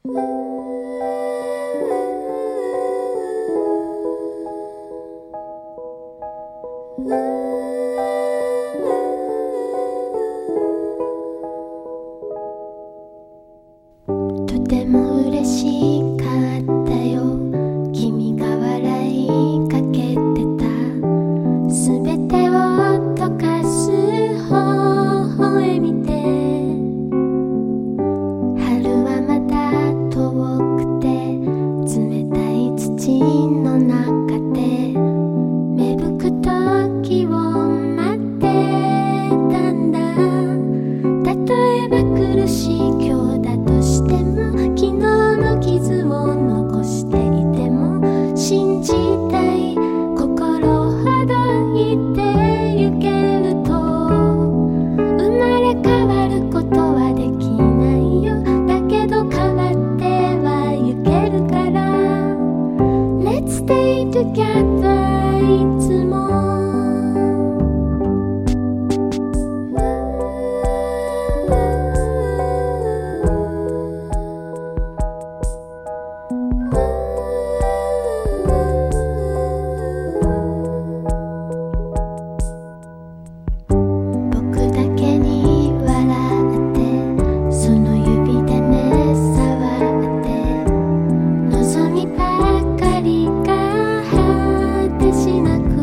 とても嬉しかったよ、君が笑いかけてた。すべてを溶かす微笑みで、春はまだ遠くて冷たい土の中で芽吹く時を待ってたんだ。例えば苦しい今日だとしても、昨日の傷を残していても、信じたい心ほどいてゆけると、生まれ変わることはできないよ。だけど変わってはゆけるから、 Let's stay together いつも。僕だけに笑って、その指でね触って、望みばかりが果てしなく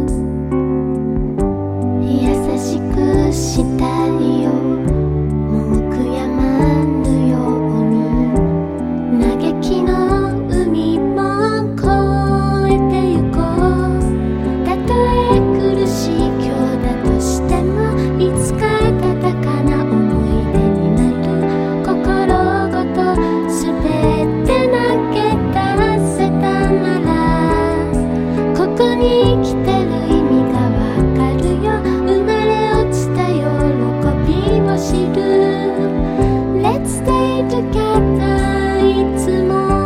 優しくしたいよ。もう悔やまぬように嘆きの海も越えてゆこう。たとえ苦しい今日だとしても、いつか温かな思い出になる。心ごとすべて投げ出せたなら、ここに生きてる意味がわかるよ。生まれ落ちた喜びを知る。 Let's stay together いつも。